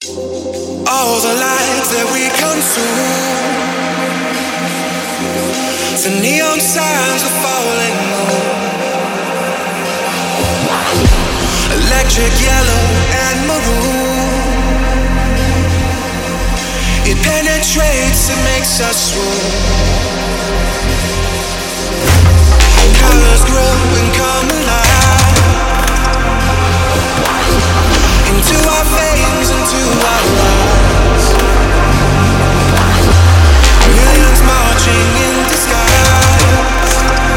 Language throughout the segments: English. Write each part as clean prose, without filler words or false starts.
All the lights that we consume, the neon signs of falling moon, electric yellow and maroon. It penetrates, it makes us swoon. Colors grow and come alive into our veins, into our lives. Millions marching in disguise.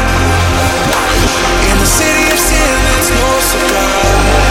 In the city of sin, it's no surprise.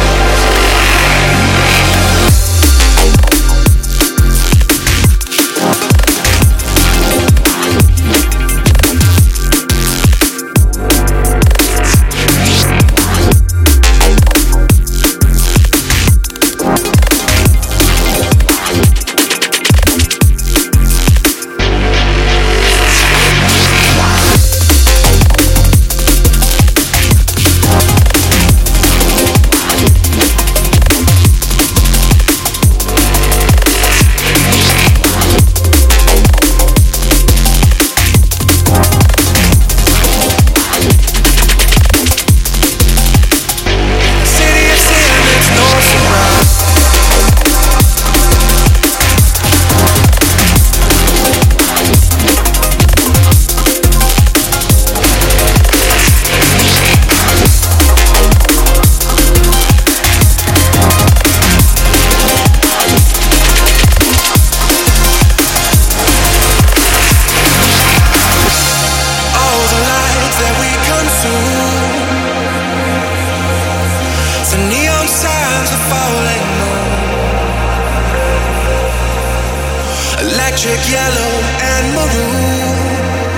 Electric yellow and maroon.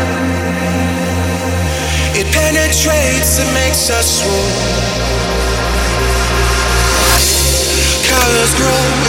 It penetrates, it makes us swoon. Colors grow